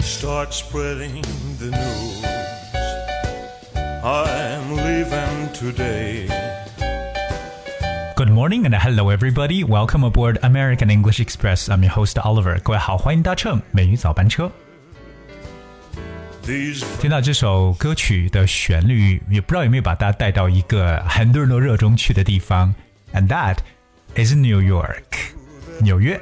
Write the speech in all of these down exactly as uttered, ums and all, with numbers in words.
Start spreading the news. I'm leaving today. Good morning and hello everybody. Welcome aboard American English Express. I'm your host Oliver. 各位好，欢迎搭乘美语早班车。听到这首歌曲的旋律，也不知道有没有把大家带到一个很多人都热衷去的地方 ，and that is New York， 纽约。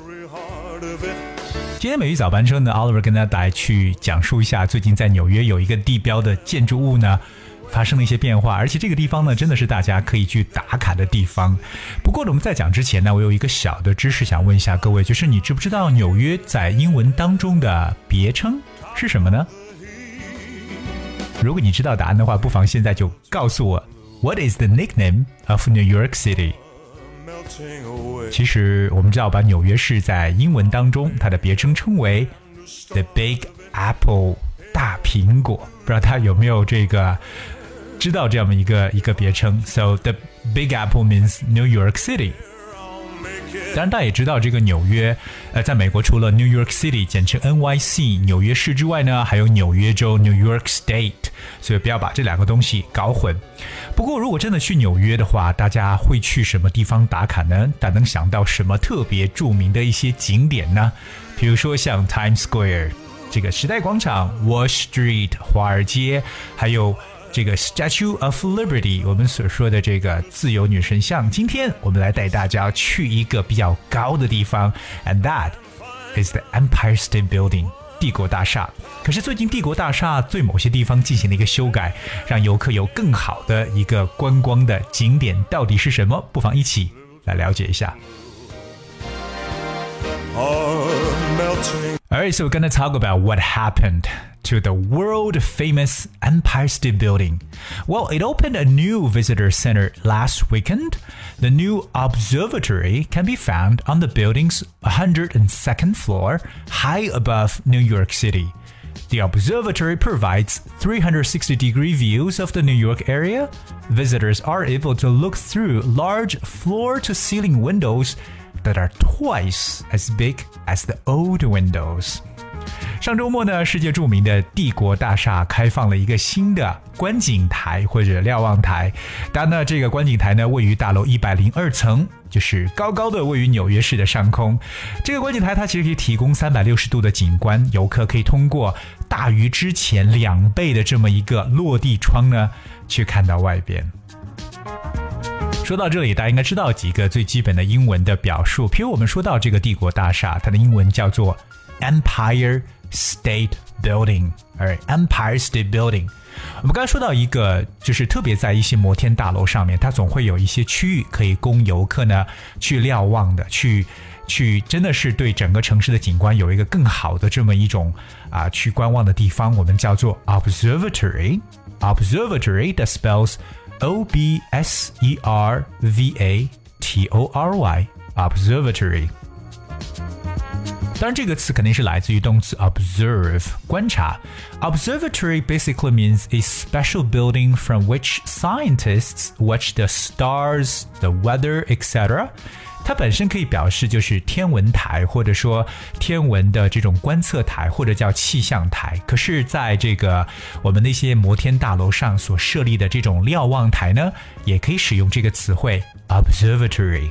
今天美语早班车呢 ，Oliver 跟大家来去讲述一下，最近在纽约有一个地标的建筑物呢，发生了一些变化，而且这个地方呢，真的是大家可以去打卡的地方。不过我们在讲之前呢，我有一个小的知识想问一下各位，就是你知不知道纽约在英文当中的别称是什么呢？如果你知道答案的话，不妨现在就告诉我 What is the nickname of New York City？ 其实我们知道吧，纽约市在英文当中它的别称称为 The Big Apple， 大苹果。不知道他有没有这个知道这样的一个一个别称 So the Big Apple means New York City。当然大家也知道这个纽约呃，在美国除了 New York City 简称 N Y C 纽约市之外呢，还有纽约州 New York State， 所以不要把这两个东西搞混。不过如果真的去纽约的话，大家会去什么地方打卡呢？大家能想到什么特别著名的一些景点呢？比如说像 Times Square 这个时代广场， Wall Street 华尔街，还有这个 Statue of Liberty 我们所说的这个自由女神像。今天我们来带大家去一个比较高的地方 And that is the Empire State Building 帝国大厦。可是最近帝国大厦对某些地方进行了一个修改，让游客有更好的一个观光的景点，到底是什么？不妨一起来了解一下。Alright, so we're going to talk about what happened to the world-famous Empire State Building. Well, it opened a new visitor center last weekend. The new observatory can be found on the building's one hundred second floor, high above New York City. The observatory provides three hundred sixty degree views of the New York area. Visitors are able to look through large floor-to-ceiling windows that are twice as big as the old windows. 上周末呢，世界著名的帝国大厦开放了一个新的观景台或者瞭望台。当然呢，这个观景台呢位于大楼一百零二层，就是高高的位于纽约市的上空。这个观景台它其实可以提供三百六十度的景观，游客可以通过大于之前两倍的这么一个落地窗呢，去看到外边。说到这里，大家应该知道几个最基本的英文的表述。譬如我们说到这个帝国大厦，它的英文叫做 Empire State Building， 而 Empire State Building。我们刚才说到一个，就是特别在一些摩天大楼上面，它总会有一些区域可以供游客呢去瞭望的，去去真的是对整个城市的景观有一个更好的这么一种啊去观望的地方，我们叫做 Observatory。Observatory that spells O B S E R V A T O R Y Observatory。 当然这个词肯定是来自于动词 observe 观察。 Observatory basically means a special building from which scientists watch the stars, the weather, et cetera。 它本身可以表示就是天文台，或者说天文的这种观测台，或者叫气象台。可是在这个我们那些摩天大楼上所设立的这种瞭望台呢，也可以使用这个词汇 observatory。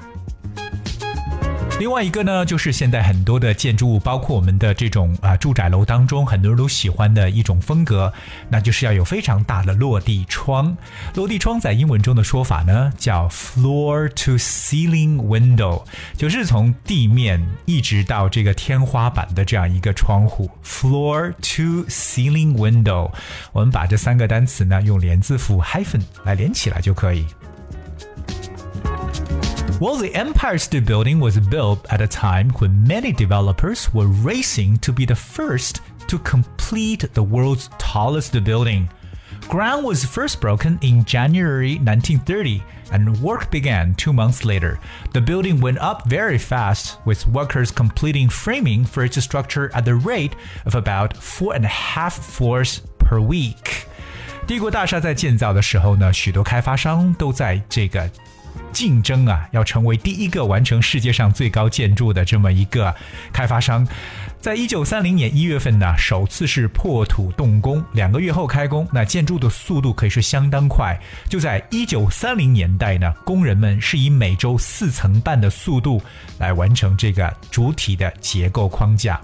另外一个呢，就是现在很多的建筑物，包括我们的这种啊住宅楼当中，很多人都喜欢的一种风格，那就是要有非常大的落地窗。落地窗在英文中的说法呢，叫 floor to ceiling window， 就是从地面一直到这个天花板的这样一个窗户 floor to ceiling window。 我们把这三个单词呢用连字符 hyphen 来连起来就可以。Well, the Empire State Building was built at a time when many developers were racing to be the first to complete the world's tallest building. Ground was first broken in January nineteen thirty, and work began two months later. The building went up very fast, with workers completing framing for its structure at the rate of about four and a half floors per week. 帝国大厦在建造的时候呢，许多开发商都在这个竞争啊，要成为第一个完成世界上最高建筑的这么一个开发商。在一九三零年一月份呢，首次是破土动工，两个月后开工，那建筑的速度可以说相当快。就在一九三零年代呢，工人们是以每周四层半的速度来完成这个主体的结构框架。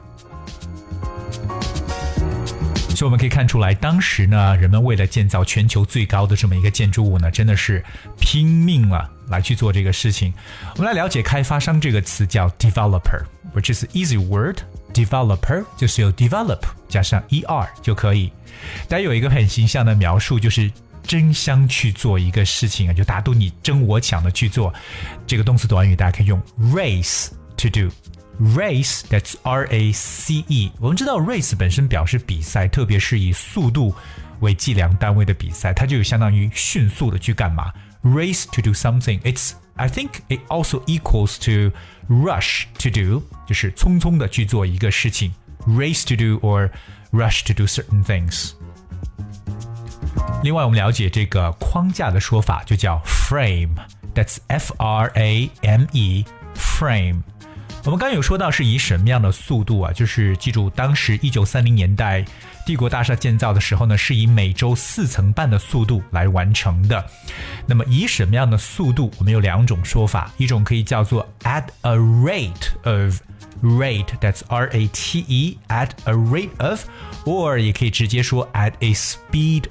所以我们可以看出来，当时呢，人们为了建造全球最高的这么一个建筑物呢，真的是拼命了来去做这个事情。我们来了解开发商这个词叫 developer， which is an easy word。developer 就是有 develop 加上 er 就可以。大家有一个很形象的描述，就是争相去做一个事情啊，就大家都你争我抢的去做。这个动词短语大家可以用 race to do。Race, that's R A C E. 我们知道 race 本身表示比赛，特别是以速度为计量单位的比赛，它就有相当于迅速的去干嘛 ？Race to do something. It's, I think it also equals to rush to do, 就是匆匆的去做一个事情。Race to do or rush to do certain things. 另外，我们了解这个框架的说法就叫 frame. That's F R A M E, frame.我们刚刚有说到是以什么样的速度啊？就是记住，当时一九三零年代帝国大厦建造的时候呢，是以每周四层半的速度来完成的。那么以什么样的速度？我们有两种说法，一种可以叫做 at a rate of rate, that's R A T E, at a rate of, or 也可以直接说 at a speed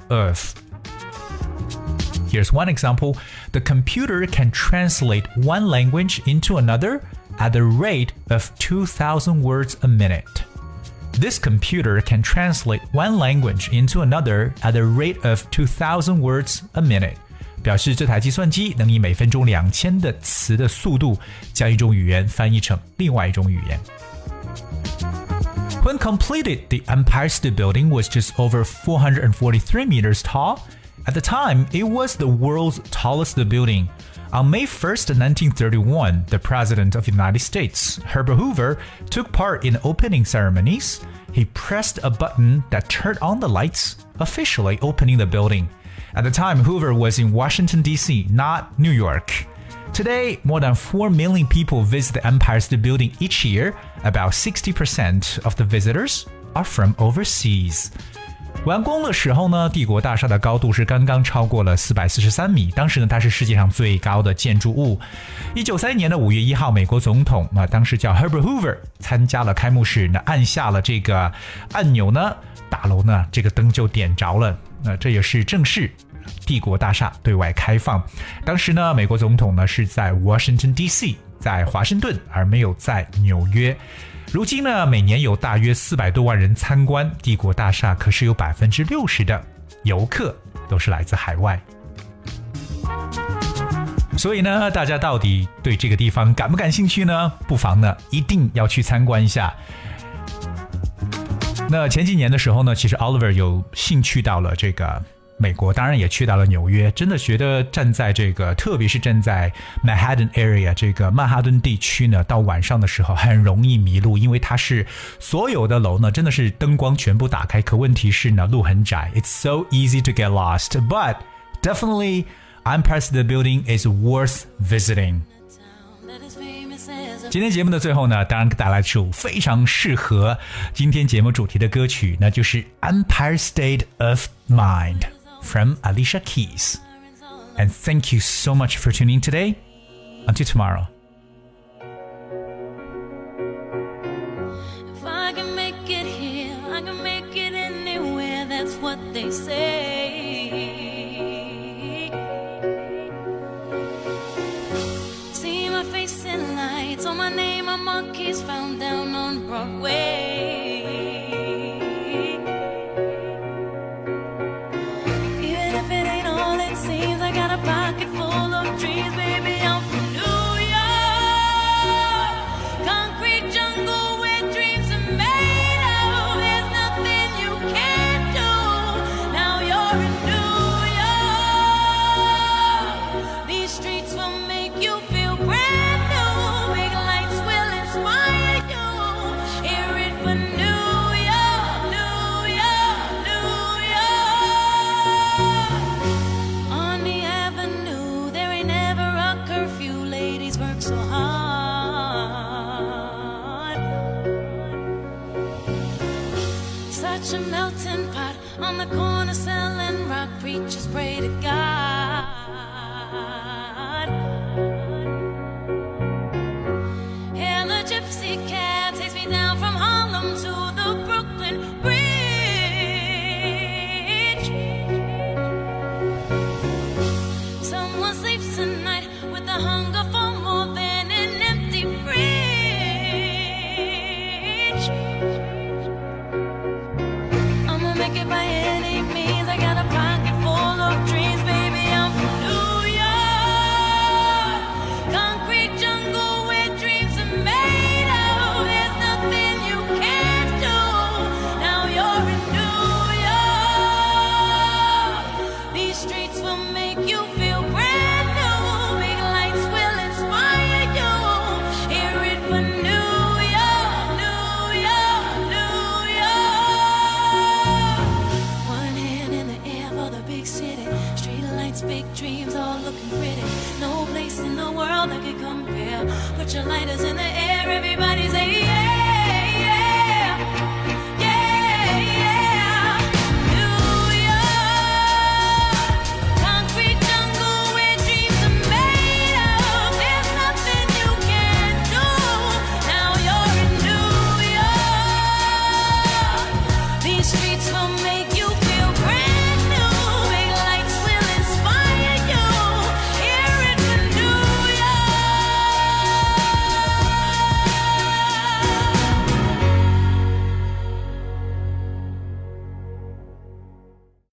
of。Here's one example. The computer can translate one language into another.At the rate of two thousand words a minute. This computer can translate one language into another at the rate of two thousand words a minute. 表示这台计算机能以每分钟两千的词的速度将一种语言翻译成另外一种语言。When completed, the Empire State Building was just over four hundred forty-three meters tall. At the time, it was the world's tallest building.On May first, nineteen thirty-one, the President of the United States, Herbert Hoover, took part in opening ceremonies. He pressed a button that turned on the lights, officially opening the building. At the time, Hoover was in Washington, D C, not New York. Today, more than four million people visit the Empire State Building each year. About sixty percent of the visitors are from overseas.完工的时候呢，帝国大厦的高度是刚刚超过了四百四十三米，当时呢它是世界上最高的建筑物。一九三一年的五月一号，美国总统啊，当时叫 Herbert Hoover 参加了开幕式，那按下了这个按钮呢，大楼呢这个灯就点着了，那这也是正式帝国大厦对外开放。当时呢，美国总统呢是在 Washington D C， 在华盛顿，而没有在纽约。如今呢，每年有大约四百多万人参观帝国大厦，可是有百分之六十的游客都是来自海外。所以呢，大家到底对这个地方感不感兴趣呢？不妨呢，一定要去参观一下。那前几年的时候呢，其实 Oliver 有幸去到了这个美国，当然也去到了纽约，真的觉得站在这个，特别是站在 Manhattan area 这个曼哈顿地区呢，到晚上的时候很容易迷路，因为它是所有的楼呢，真的是灯光全部打开，可问题是呢，路很窄 ，It's so easy to get lost. But definitely, Empire State Building is worth visiting. 今天节目的最后呢，当然带来一首非常适合今天节目主题的歌曲，那就是 Empire State of Mind.From Alicia Keys. And thank you so much for tuning in today. Until tomorrow. If I can make it here, I can make it anywhere, that's what they say. See my face in lights, on my name, my monkeys found down on Broadway.Even such a melting pot. On the corner selling rock, preachers pray to God.